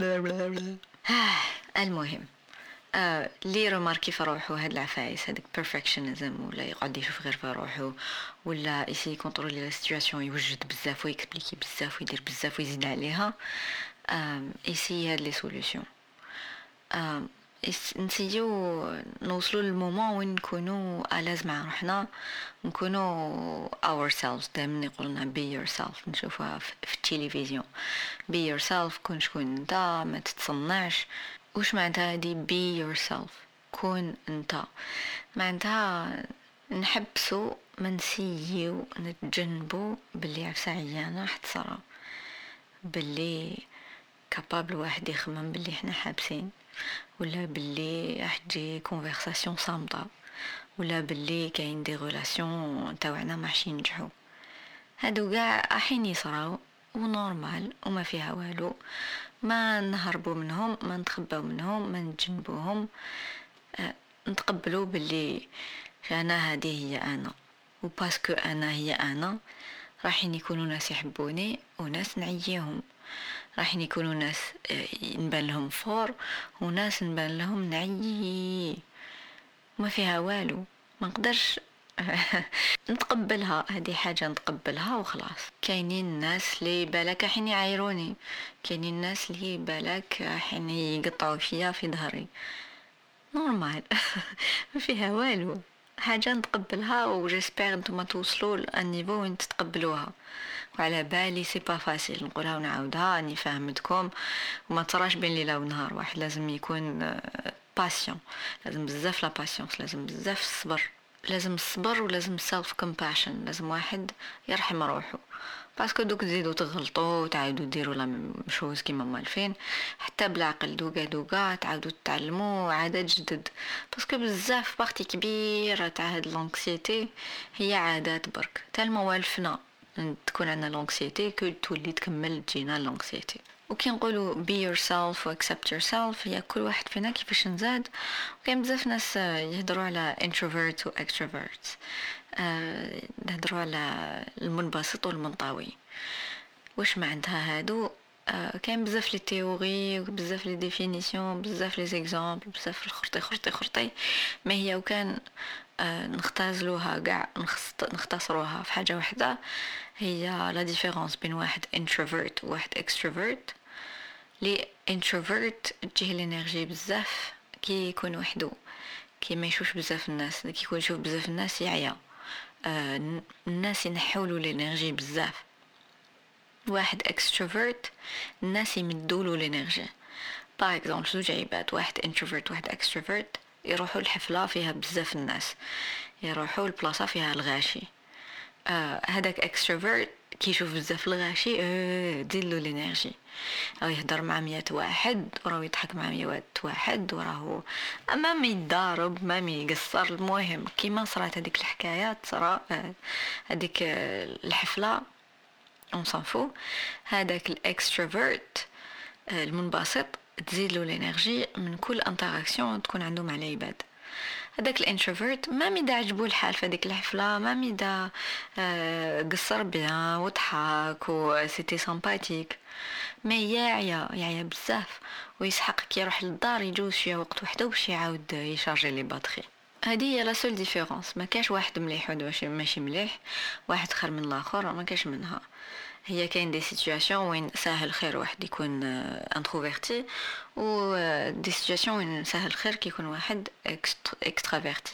المهم آه لي روماركي في روحو هاد العفايس هاديك بيرفكشنزم ولا يقعد يشوف غير في روحو ولا يسي كونترولي لا سيتوياسيون، يوجد بزاف ويكسبليكي بزاف ويدير بزاف ويزيد عليها، آه يسي هاد لي سوليوشن. آه نسيو نوصلوا للمومون وين نكونوا آلاز مع روحنا، نكونوا ourselves. دائما يقولنا be yourself، نشوفها في التلفزيون be yourself، كون شكون انت، ما تتصنعش. وش معناتها هذه be yourself؟ كون انت معناتها نحبسوا منسيو نتجنبوا باللي عفسه عيانه حتصرا، باللي كابابل واحد يخمم باللي احنا حابسين، ولا باللي راح تجي كونفرساسيون صامته، ولا باللي كاين دي ريلاسيون تاعنا ماشي ينجحوا. هادو كاع راحين يصراو ونورمال وما فيها والو، ما نهربوا منهم، ما نتخباو منهم، ما نتجنبوهم، أه نتقبلوا باللي انا هذه هي انا، وباسكو انا هي انا راحين يكونوا ناس يحبوني وناس نعييهم، راحين يكونوا ناس نبان لهم فور وناس نبان لهم نعيي، ما فيها والو، ما نقدرش نتقبلها، هذه حاجة نتقبلها وخلاص. كاينين الناس اللي بالك حين يعايروني، كاينين الناس اللي بالك حين يقطعوا فيا في ظهري، نورمال ما فيها والو، حاجة نتقبلها وجسبير انتم توصلوا للنيفو وين تتقبلوها. وعلى بالي سي با فاسيل نقولها ونعاودها، اني فهمتكم وما تراش بين ليله ونهار، واحد لازم يكون باسيون، لازم بزاف لا باسيونس، لازم بزاف الصبر لازم الصبر ولازم self compassion، لازم واحد يرحم روحه، باسكو دوك تزيدوا تغلطوا وتعاودوا ديروا لا مشوز كيما مالفين، حتى بالعقل دوكا دوكا تعاودوا تتعلموا عادات جدد، باسكو بزاف بارتي كبيره تاع هاد لونكسيتي هي عادات برك تال موالفنا تكون عندنا لونكسيتي كو تولي تكمل تجينا لونكسيتي. وكي نقولوا be yourself و accept yourself هي كل واحد فينا كيفاش نزاد. وكاين بزاف ناس يهضروا على introvert و extrovert، أه نهضروا على المنبسط والمنطوي، واش معناتها هادو؟ أه كاين بزاف لي تيوري وبزاف لي ديفينيسيون بزاف لي زيكزامبل بزاف الخرطي خرطي خرطي، ما هي وكان أه نختازلوها كاع نختصروها في حاجه واحده، هي لا ديفيرونس بين واحد introvert و واحد extrovert. لي introvert تجيه الانرجي بزاف كي يكون وحده، كي ما يشوفش بزاف الناس، كي يكون يشوف بزاف الناس يعيا، آه الناس ينحولوا الانرجي بزاف. واحد extrovert الناس يمدولو الانرجي. باغ اكزومبل زوج عباد، واحد introvert واحد extrovert، يروحوا الحفله فيها بزاف الناس، يروحوا البلاصه فيها الغاشي، آه هذاك extrovert كي يشوف بزاف الغاشي اه ديلو الانرجي، او يهضر مع مية واحد وراه يضحك مع مية واحد وراه اما ما يضارب ما يقصر. المهم كيما صرات هذيك الحكايه صرا هذيك الحفله اون سانفو، هذاك الاكستروفيرت المنبسط تزيد له الانرجي من كل انتراكسيون تكون عنده مع العباد. هذاك الانتروفيرت ما ميدا عجبو الحال في هذيك الحفله، ما ميدا آه قصر بيان وضحك و سيتي سامباتيك، ما يعيا يعيا بزاف ويسحق كي يروح للدار يجوز شويه وقت وحده باش يعاود يشارجي لي باتري. هذه هي لا سول ديفيرونس، ما كاش واحد مليح وواحد ماشي مليح، واحد خير من الاخر، ما كاش منها. هي كاين دي سيتوياسيون وين ساهل خير واحد يكون انتروفيرتي، و دي سيتوياسيون وين ساهل خير كي يكون واحد اكسترافيرتي،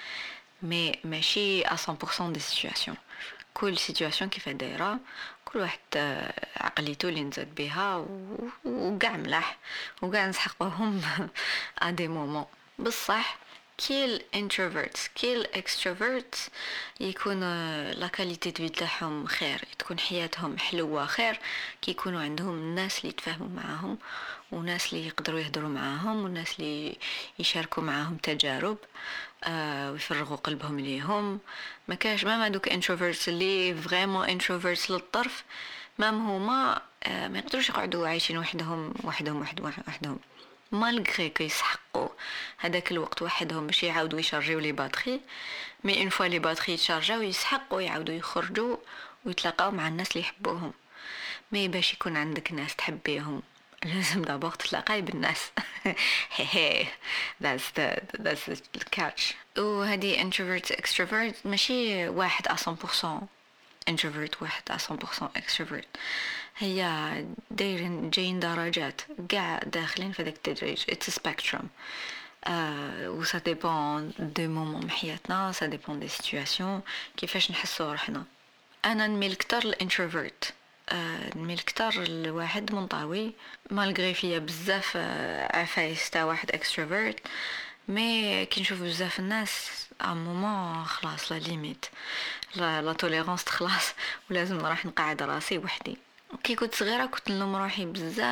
مي ماشي مية بالمية دي سيتوياسيون. كل سيتوياسيون كيف دايره، كل واحد عقليته اللي نزاد بها وكاع ملاح وكاع نسحقهم ا دي مومون. بصح كي الانتروفيرتس كي الاكستروفيرتس يكون لا كاليتي دو تاعهم خير، تكون حياتهم حلوه خير كي يكونوا عندهم الناس اللي يتفاهموا معاهم وناس اللي يقدروا يهضروا معاهم وناس اللي يشاركوا معاهم تجارب آه ويفرغوا قلبهم ليهم. ما كاش ما دوك انتروفيرتس اللي فريمون انتروفيرتس للطرف، ما هما آه ما يقدروش يقعدوا عايشين وحدهم وحدهم وحدهم وحدهم مالغري كي يسحقوا هذاك الوقت وحدهم باش يعاودوا يشارجيو لي باتري، مي اون فوا لي باتري يتشارجاو يسحقوا يعاودوا يخرجوا ويتلاقاو مع الناس اللي يحبوهم. مي باش يكون عندك ناس تحبيهم لازم دابور تتلاقاي بالناس. هي that's the that's the catch. وهذه introvert extrovert ماشي واحد à cent pour cent introvert واحد à cent pour cent extrovert، هي دايرين جايين درجات قاع داخلين في ذاك التدريج. it's a spectrum euh و ça dépend des moments حياتنا، ça dépend des situations كيفاش نحسوا روحنا. انا نميل اكثر للانتروفيرت، آه نميل اكثر لواحد منطوي مالغري فيا بزاف آه عفايس تاع واحد اكستروفيرت، مي كي نشوف بزاف الناس ا مومون خلاص لا ليميت لا لا توليرانس تخلص ولازم نروح نقعد راسي وحدي. كي كنت صغيره كنت نلوم روحي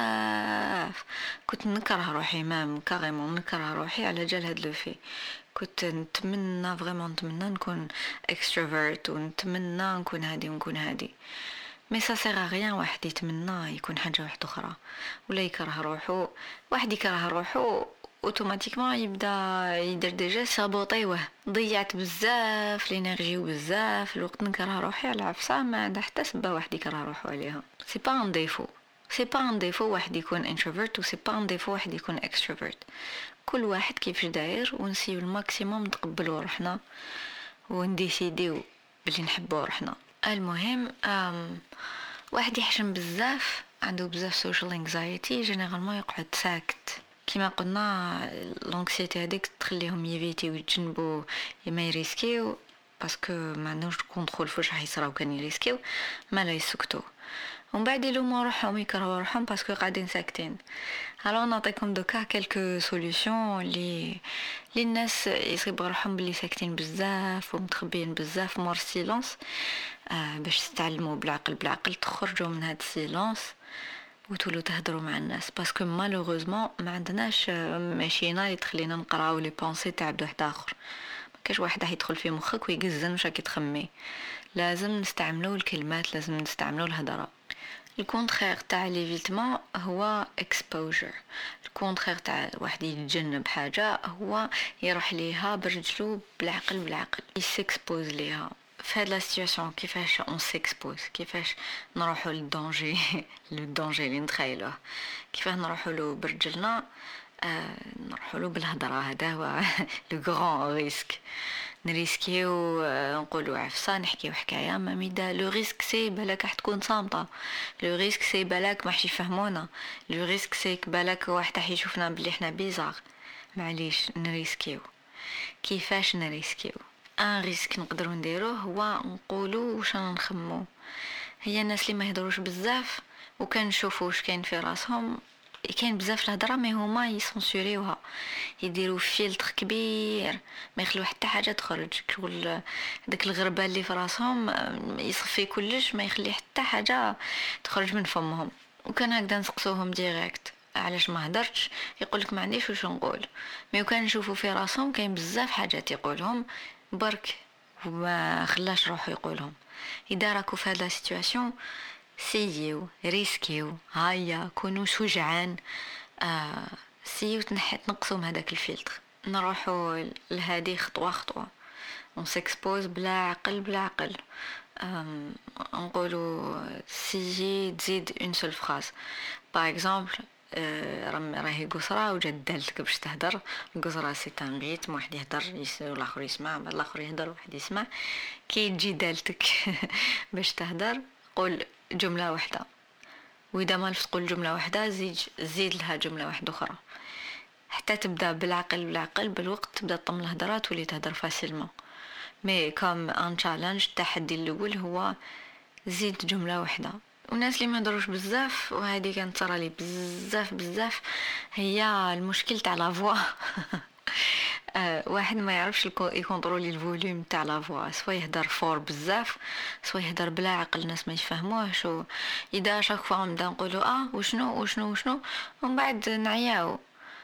بزاف، كنت نكره روحي مام كاريمون نكره روحي على جال هاد لو في. كنت نتمنى فريمون نتمنى نكون اكستروفيرت ونتمنى نكون هادي ونكون هادي، مي سا سيغ غيان واحد يتمنى يكون حاجه واحده اخرى ولا يكره روحو. واحد يكره روحو اوتوماتيكمون يبدا يدير ديجا سابوطيوه، ضيعت بزاف الانرجي وبزاف الوقت نكره روحي على عفسه ما عندها حتى سبه واحد يكره روحو عليها. سي با ان ديفو، سي با ان ديفو واحد يكون انتروفيرت و سي با ان ديفو واحد يكون اكستروفيرت، كل واحد كيفاش داير ونسيو الماكسيموم نتقبلوا روحنا ونديسيديو بلي نحبوا روحنا. المهم أم واحد يحشم بزاف عنده بزاف سوشيال انكزايتي جينيرالمون يقعد ساكت، كما قلنا لونكسيتي هذيك تخليهم يفيتي ويتجنبوا ما يريسكيو باسكو ما عندهمش كونترول فاش راح يصراو كان يريسكيو ما لا يسكتوا ومن بعد يلوموا روحهم يكرهوا روحهم باسكو قاعدين ساكتين. alors نعطيكم دوكا quelques solutions لي لي الناس يصيب روحهم بلي ساكتين بزاف ومتخبيين بزاف مور السيلونس آه باش تتعلموا بالعقل بالعقل تخرجوا من هاد السيلونس وتولوا تهضروا مع الناس باسكو مالوغوزمون ما عندناش ماشينا اللي تخلينا نقراو لي بونسي تاع واحد اخر. ما كاش واحد راح يدخل في مخك ويقزن واش راكي تخمي. لازم نستعملوا الكلمات لازم نستعملوا الهضره. الكونترير تاع ليفيتمون هو اكسبوجر. الكونترير تاع واحد يتجنب حاجه هو يروح ليها برجلو بالعقل بالعقل يسكسبوز ليها. في هاد لا سيتوياسيون كيفاش اون سيكسبوز كيفاش نروحوا للدونجي للدونجي اللي نتخيلوه كيفاش نروحوا له برجلنا آه نروحوا له بالهضره. هذا هو لو غران ريسك. نريسكيو آه نقولوا عفسه نحكيو حكايه ما ميدا لو ريسك سي بالك راح تكون صامته. لو ريسك سي بالك ما حش يفهمونا. لو ريسك سي بالك واحد راح يشوفنا بلي احنا بيزار. معليش نريسكيو. كيفاش نريسكيو ان ريسك نقدروا نديروه هو نقولوا واش نخمو. هي الناس اللي ما يهضروش بزاف وكان نشوفوا واش كاين في راسهم كاين بزاف الهضره ما هما يسونسوريوها يديروا فيلتر كبير ما يخلو حتى حاجه تخرج كل داك الغربه اللي في راسهم يصفي كلش ما يخلي حتى حاجه تخرج من فمهم. وكان هكذا نسقسوهم ديريكت علاش ما هدرتش يقولك ما عنديش واش نقول. مي كان نشوفوا في راسهم كاين بزاف حاجات يقولهم برك وما خلاش روحو يقولهم. اذا راكو في هذا السيتوياسيون سيو ريسكيو هيا كونوا شجعان آه سيو تنحي تنقصوا هذاك الفلتر نروحوا لهذه خطوه خطوه on s'expose بلا عقل بلا عقل. نقولوا سيجي تزيد اون سول فراز باغ اكزومبل راهي قصرة وجات دالتك باش تهدر. القصرة سي تان ريتم واحد يهدر والاخر يسمع بعد الاخر يهدر واحد يسمع. كي تجي دالتك باش تهدر قول جملة واحدة واذا ما عرفت تقول جملة واحدة زيد زيد لها جملة واحدة اخرى حتى تبدا بالعقل بالعقل بالوقت تبدا تطم الهضرات واللي تهدر فاسيلمون. مي كوم ان تشالنج التحدي الاول هو زيد جملة واحدة. والناس اللي ما يهضروش بزاف وهذه كانت صرا لي بزاف بزاف هي المشكل تاع لا فوا. أه واحد ما يعرفش يكونترولي الفوليوم تاع لا فوا سوا يهدر فور بزاف سوا يهدر بلا عقل الناس ما يفهموهش. اذا شاك فوا نبدا نقولوا اه وشنو وشنو وشنو ومن بعد نعياو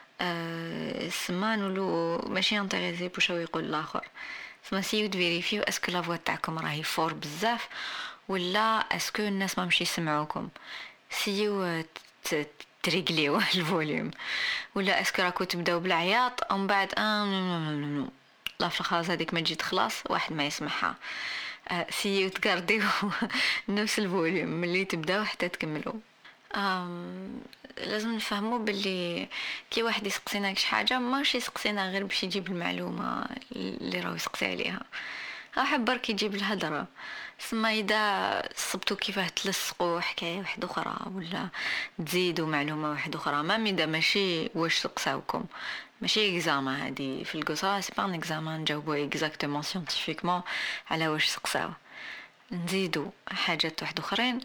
أه السمان ولو ماشي انتريسي بوش يقول الاخر. سما سيو تفيريفيو اسكو لا فوا تاعكم راهي فور بزاف ولا اسكو الناس ما مشي يسمعوكم. سيو تريغليو الفوليوم ولا اسكو راكو تبداو بالعياط ومن بعد اه لا فخلاص هذيك ما تجي تخلص واحد ما يسمعها. آه سيو تقرديو نفس الفوليوم ملي تبداو حتى تكملوا. آم لازم نفهموا باللي كي واحد يسقسينا شي حاجه ماشي يسقسينا غير باش يجيب المعلومه اللي راهو يسقسي عليها. احب برك يجيب الهضره. سما اذا صبتوا كيفاه تلصقوا حكايه واحده اخرى ولا تزيدوا معلومه واحده اخرى ما ميدا ماشي واش سقساوكم ماشي اكزامان هذه في القصه سي با ان اكزامان نجاوبوا اكزاكتومون سيانتيفيكمون على واش سقساو. نزيدوا حاجات واحده اخرين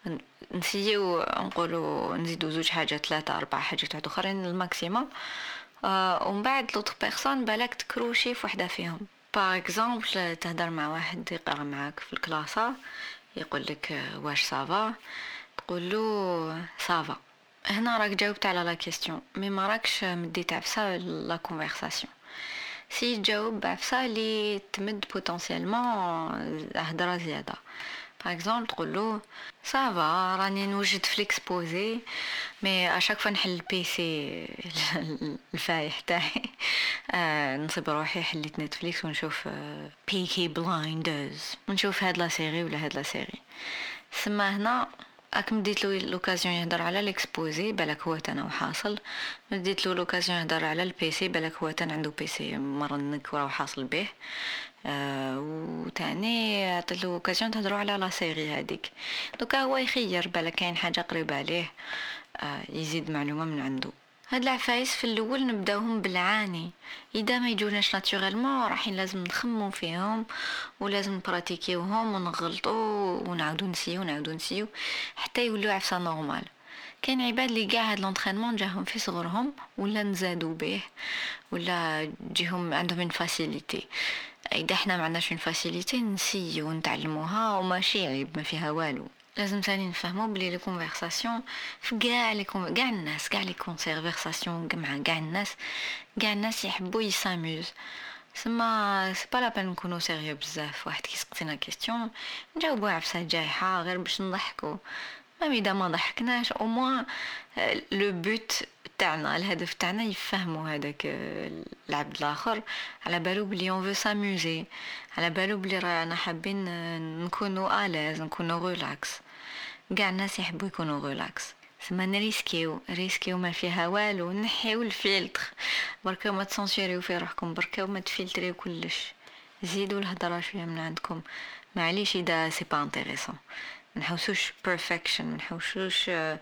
نسيو نقولوا نزيدوا زوج حاجات ثلاثه اربع حاجات واحده اخرين الماكسيموم. آه ومن بعد لوطر بيرسون بالك تكروشي في وحده فيهم. باغ اكزومبل تهدر مع واحد يقرا معاك في الكلاسه يقول لك واش صافا تقول له صافا. هنا راك جاوبت على لا كيستيون مي ما راكش مديت عفسه لا كونفرساسيون. سي تجاوب بعفسه اللي تمد بوتنسيالمون هضره زياده. باغ اكزومبل تقول له صافا راني نوجد في ليكسبوزي مي اشاك فوا نحل البيسي الفايح تاعي آه نصيب روحي حليت نتفليكس ونشوف آه بيكي بلايندرز ونشوف هاد لا سيري ولا هاد لا سيري. سما هنا اك مديت له لوكازيون يهضر على ليكسبوزي بالك هو تانا وحاصل. مديت له لوكازيون يهضر على البيسي بالك هو تان عنده بيسي مرنك وراه حاصل به. آه وتاني عطيت له اوكازيون تهضروا على لا سيري هذيك دوكا هو يخير بالك كاين حاجه قريبه عليه آه يزيد معلومه من عنده. هاد العفايس في الاول نبداوهم بالعاني، اذا ما يجوناش ناتوريلمون راحين لازم نخمو فيهم ولازم نبراتيكيوهم ونغلطوا ونعاودو نسيو ونعاودو نسيو حتى يولوا عفسه نورمال. كاين عباد اللي كاع هاد لونطرينمون جاهم في صغرهم ولا نزادوا به ولا جيهم عندهم من فاسيليتي. اذا احنا ما عندناش من فاسيليتي نسيو ونتعلموها وماشي عيب ما فيها والو. لازم ثاني نفهموا بلي لي كونفرساسيون في كاع لي كاع الناس كاع لي كونفرساسيون مع كاع الناس كاع الناس يحبوا يساموز. سما سي با لا بان نكونوا سيريو بزاف. واحد كيسقسينا كيستيون نجاوبوا عفسه جايحه غير باش نضحكوا. ما اذا ما ضحكناش او موان لو بوت تاعنا الهدف تاعنا يفهموا هذاك العبد الاخر على بالو بلي اون فو ساموزي، على بالو بلي رانا حابين نكونوا الاز نكونوا ريلاكس. كاع الناس يحبوا يكونوا ريلاكس. سما نريسكيو ريسكيو ما فيها والو. نحيو الفلتر بركا ما تسونسيريو في روحكم بركا وما تفلتريو كلش. زيدوا الهضره شويه من عندكم معليش اذا سي با انتريسون. نحوسوش بيرفكشن منحوسوش آه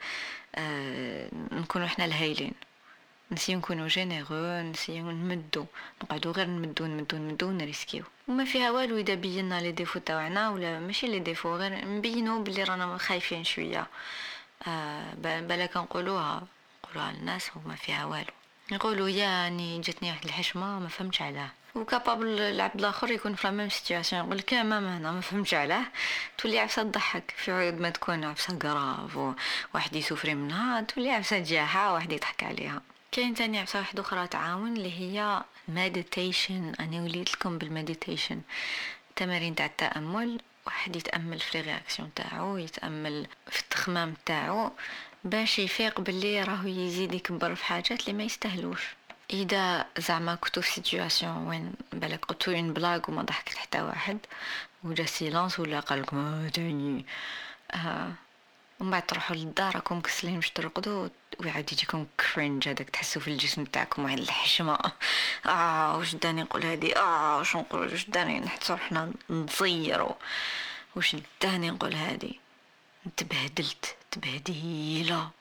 آه نكونوا احنا الهايلين. نسيو نكونوا جينيرو نسيو نمدو نقعدوا غير نمدو نمدو نمدو نريسكيو وما فيها والو اذا بينا لي ديفو تاعنا ولا ماشي لي ديفو غير نبينو بلي رانا خايفين شويه. آه بالك نقولوها نقولوها للناس وما فيها والو. نقولوا يعني جاتني واحد الحشمه ما فهمتش علاه وكابابل العبد الاخر يكون في لا سيتوياسيون يقول لك ماما هنا ما فهمتش علاه تولي عفسه تضحك. في عيود ما تكون عفسه غراف واحد يسوفري منها تولي عفسه جاحه واحد يضحك عليها. كاين تاني عفسه واحده اخرى تعاون اللي هي مديتيشن. انا وليت لكم بالمديتيشن تمارين تاع التامل. واحد يتامل في رياكسيون تاعو يتامل في التخمام تاعو باش يفيق باللي راهو يزيد يكبر في حاجات اللي ما يستاهلوش. اذا زعما كنتو في سيتوياسيون وين بالك قلتو اون بلاغ وما ضحكت حتى واحد وجا سيلانس ولا قالكم اه تاني آه ومن بعد تروحوا للدار راكم كسلين باش ترقدوا ويعاود يجيكم كرنج هذاك تحسوا في الجسم تاعكم واحد الحشمه. اه واش داني نقول هادي اه واش نقول واش داني نحس روحنا نصيروا واش داني نقول هادي تبهدلت تبهديله.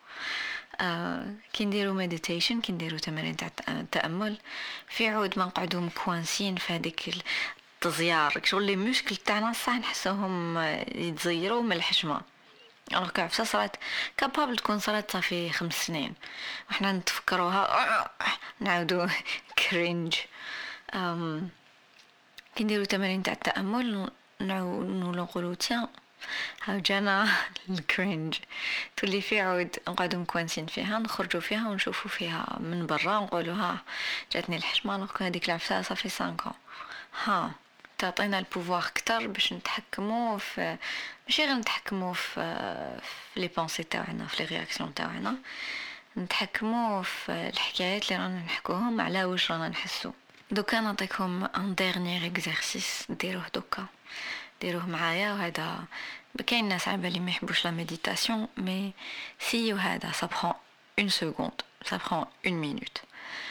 آه كي نديرو مديتيشن كي نديرو تمارين تاع التامل في عود ما نقعدو مكوانسين في هذيك التزيار شغل لي مشكل تاعنا صح نحسوهم يتزيروا من الحشمه. alors que عفسه صارت كابابل تكون صارت صافي خمس سنين وحنا نتفكروها نعاودو كرينج. أم كي نديرو تمارين تاع التامل نعاودو نقولو تيان هاو جانا الكرينج تولي في عود نقعدو مكوانسين فيها نخرجو فيها ونشوفو فيها من برا نقولوها جاتني الحشمه لو هذيك العفسه صافي خمسة ها تعطينا البوفوار اكثر باش نتحكموا في ماشي غير نتحكموا في في لي بونسي تاعنا في لي رياكسيون تاعنا نتحكموا في الحكايات اللي رانا نحكوهم على واش رانا نحسو. دوكا نعطيكم ان ديرنيير اكزرسيس ديروه دوكا ديروه معايا. وهذا كاين ناس على بالي ما يحبوش لا ميديتاسيون مي سيو هذا ça prend une seconde ça prend une minute.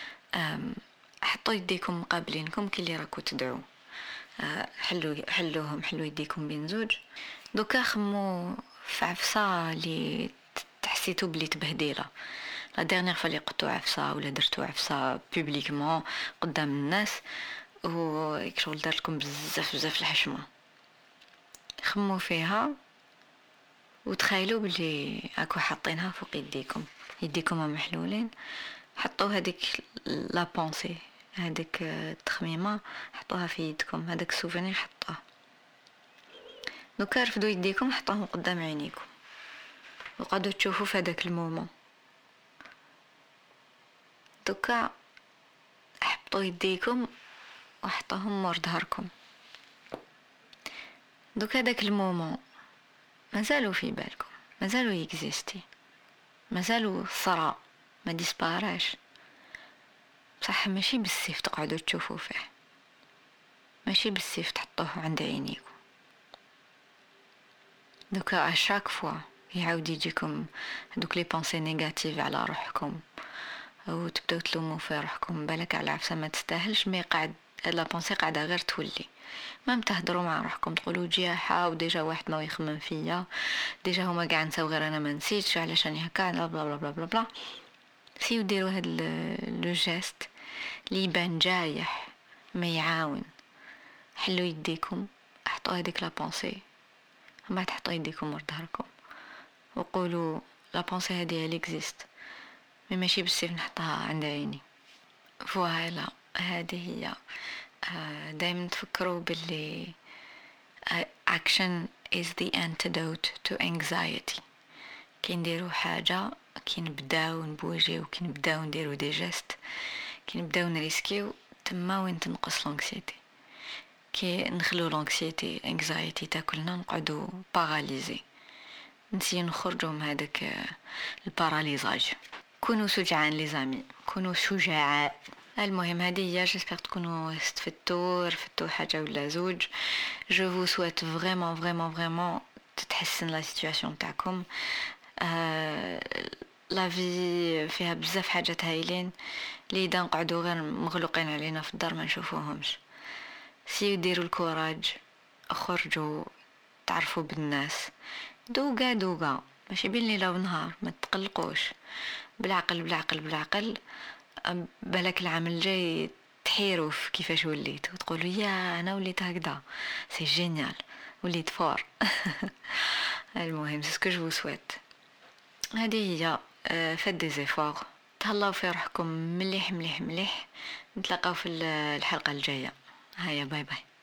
حطوا يديكم مقابلينكم كي اللي راكو تدعوا حلو حلوهم حلو يديكم بين زوج. دوكا خمو في عفسه اللي تحسيتو بلي تبهديله لا ديرنيير فالي قطو عفسه ولا درتو عفسه بوبليكمون قدام الناس ويكشغل دارلكم بزاف بزاف الحشمه. خمو فيها وتخيلوا بلي اكو حاطينها فوق يديكم يديكم محلولين. حطوا هذيك لا بونسي هذيك التخميمه حطوها في يدكم هذاك السوفينير حطوه. دوكا رفدوا يديكم حطوهم قدام عينيكم وقعدوا تشوفوا في هذاك المومون. دوكا حطوا يديكم وحطوهم مور ظهركم. دوكا هذاك المومون مازالوا في بالكم مازالوا يكزيستي مازالوا صرا ما ديسباراش بصح ماشي بالسيف تقعدوا تشوفوا فيه ماشي بالسيف تحطوه عند عينيكم. دوكا اشاك فوا يعاود يجيكم هذوك لي بونسي نيجاتيف على روحكم او تبداو تلوموا في روحكم بالك على عفسه ما تستاهلش مي قاعد لا بونسي قاعده غير تولي ما تهضروا مع روحكم تقولوا جياحه وديجا واحد ما يخمم فيا ديجا هما قاعد نساو غير انا ما نسيتش علاش راني هكا بلا بلا بلا بلا بلا. سيو ديروا هاد لو جيست اللي يبان جايح ما يعاون. حلوا يديكم، احطوا هذيك لا بونسي، ما تحطوا يديكم ورا ظهركم وقولوا لا بونسي هذه اللي اكزيست، مي ماشي بالسيف نحطها عند عيني. فوالا هذه هي. دائما تفكروا باللي action is the antidote to anxiety. كي نديروا حاجه، كي نبداو نبوجيو، كي نبداو نديروا دي جيست، كي نبداو نريسكيو، تما وين تنقص لونكسيتي. كي نخلو لونكسيتي انكزايتي تاكلنا نقعدوا باراليزي، نسيو نخرجوا من هذاك الباراليزاج. كونوا شجعان لي زامي، كونوا شجعاء. المهم هذه هي، جيسبر تكونوا استفدتوا رفدتوا حاجه ولا زوج. جو فو سويت فريمون فريمون فريمون تتحسن لا سيتوياسيون تاعكم. لا في فيها بزاف حاجات هايلين اللي دا نقعدوا غير مغلوقين علينا في الدار ما نشوفوهمش. سيو ديروا الكوراج، خرجوا تعرفوا بالناس، دوقا دوقا ماشي بين ليله ونهار، ما تقلقوش، بالعقل بالعقل بالعقل. بالك العام الجاي تحيروا في كيفاش وليت وتقولوا يا انا وليت هكذا، سي جينيال، وليت فور. المهم سي سكو جو سويت. هذه هي. فات دي زيفور، تهلاو في روحكم مليح مليح مليح. نتلاقاو في الحلقه الجايه. هيا باي باي.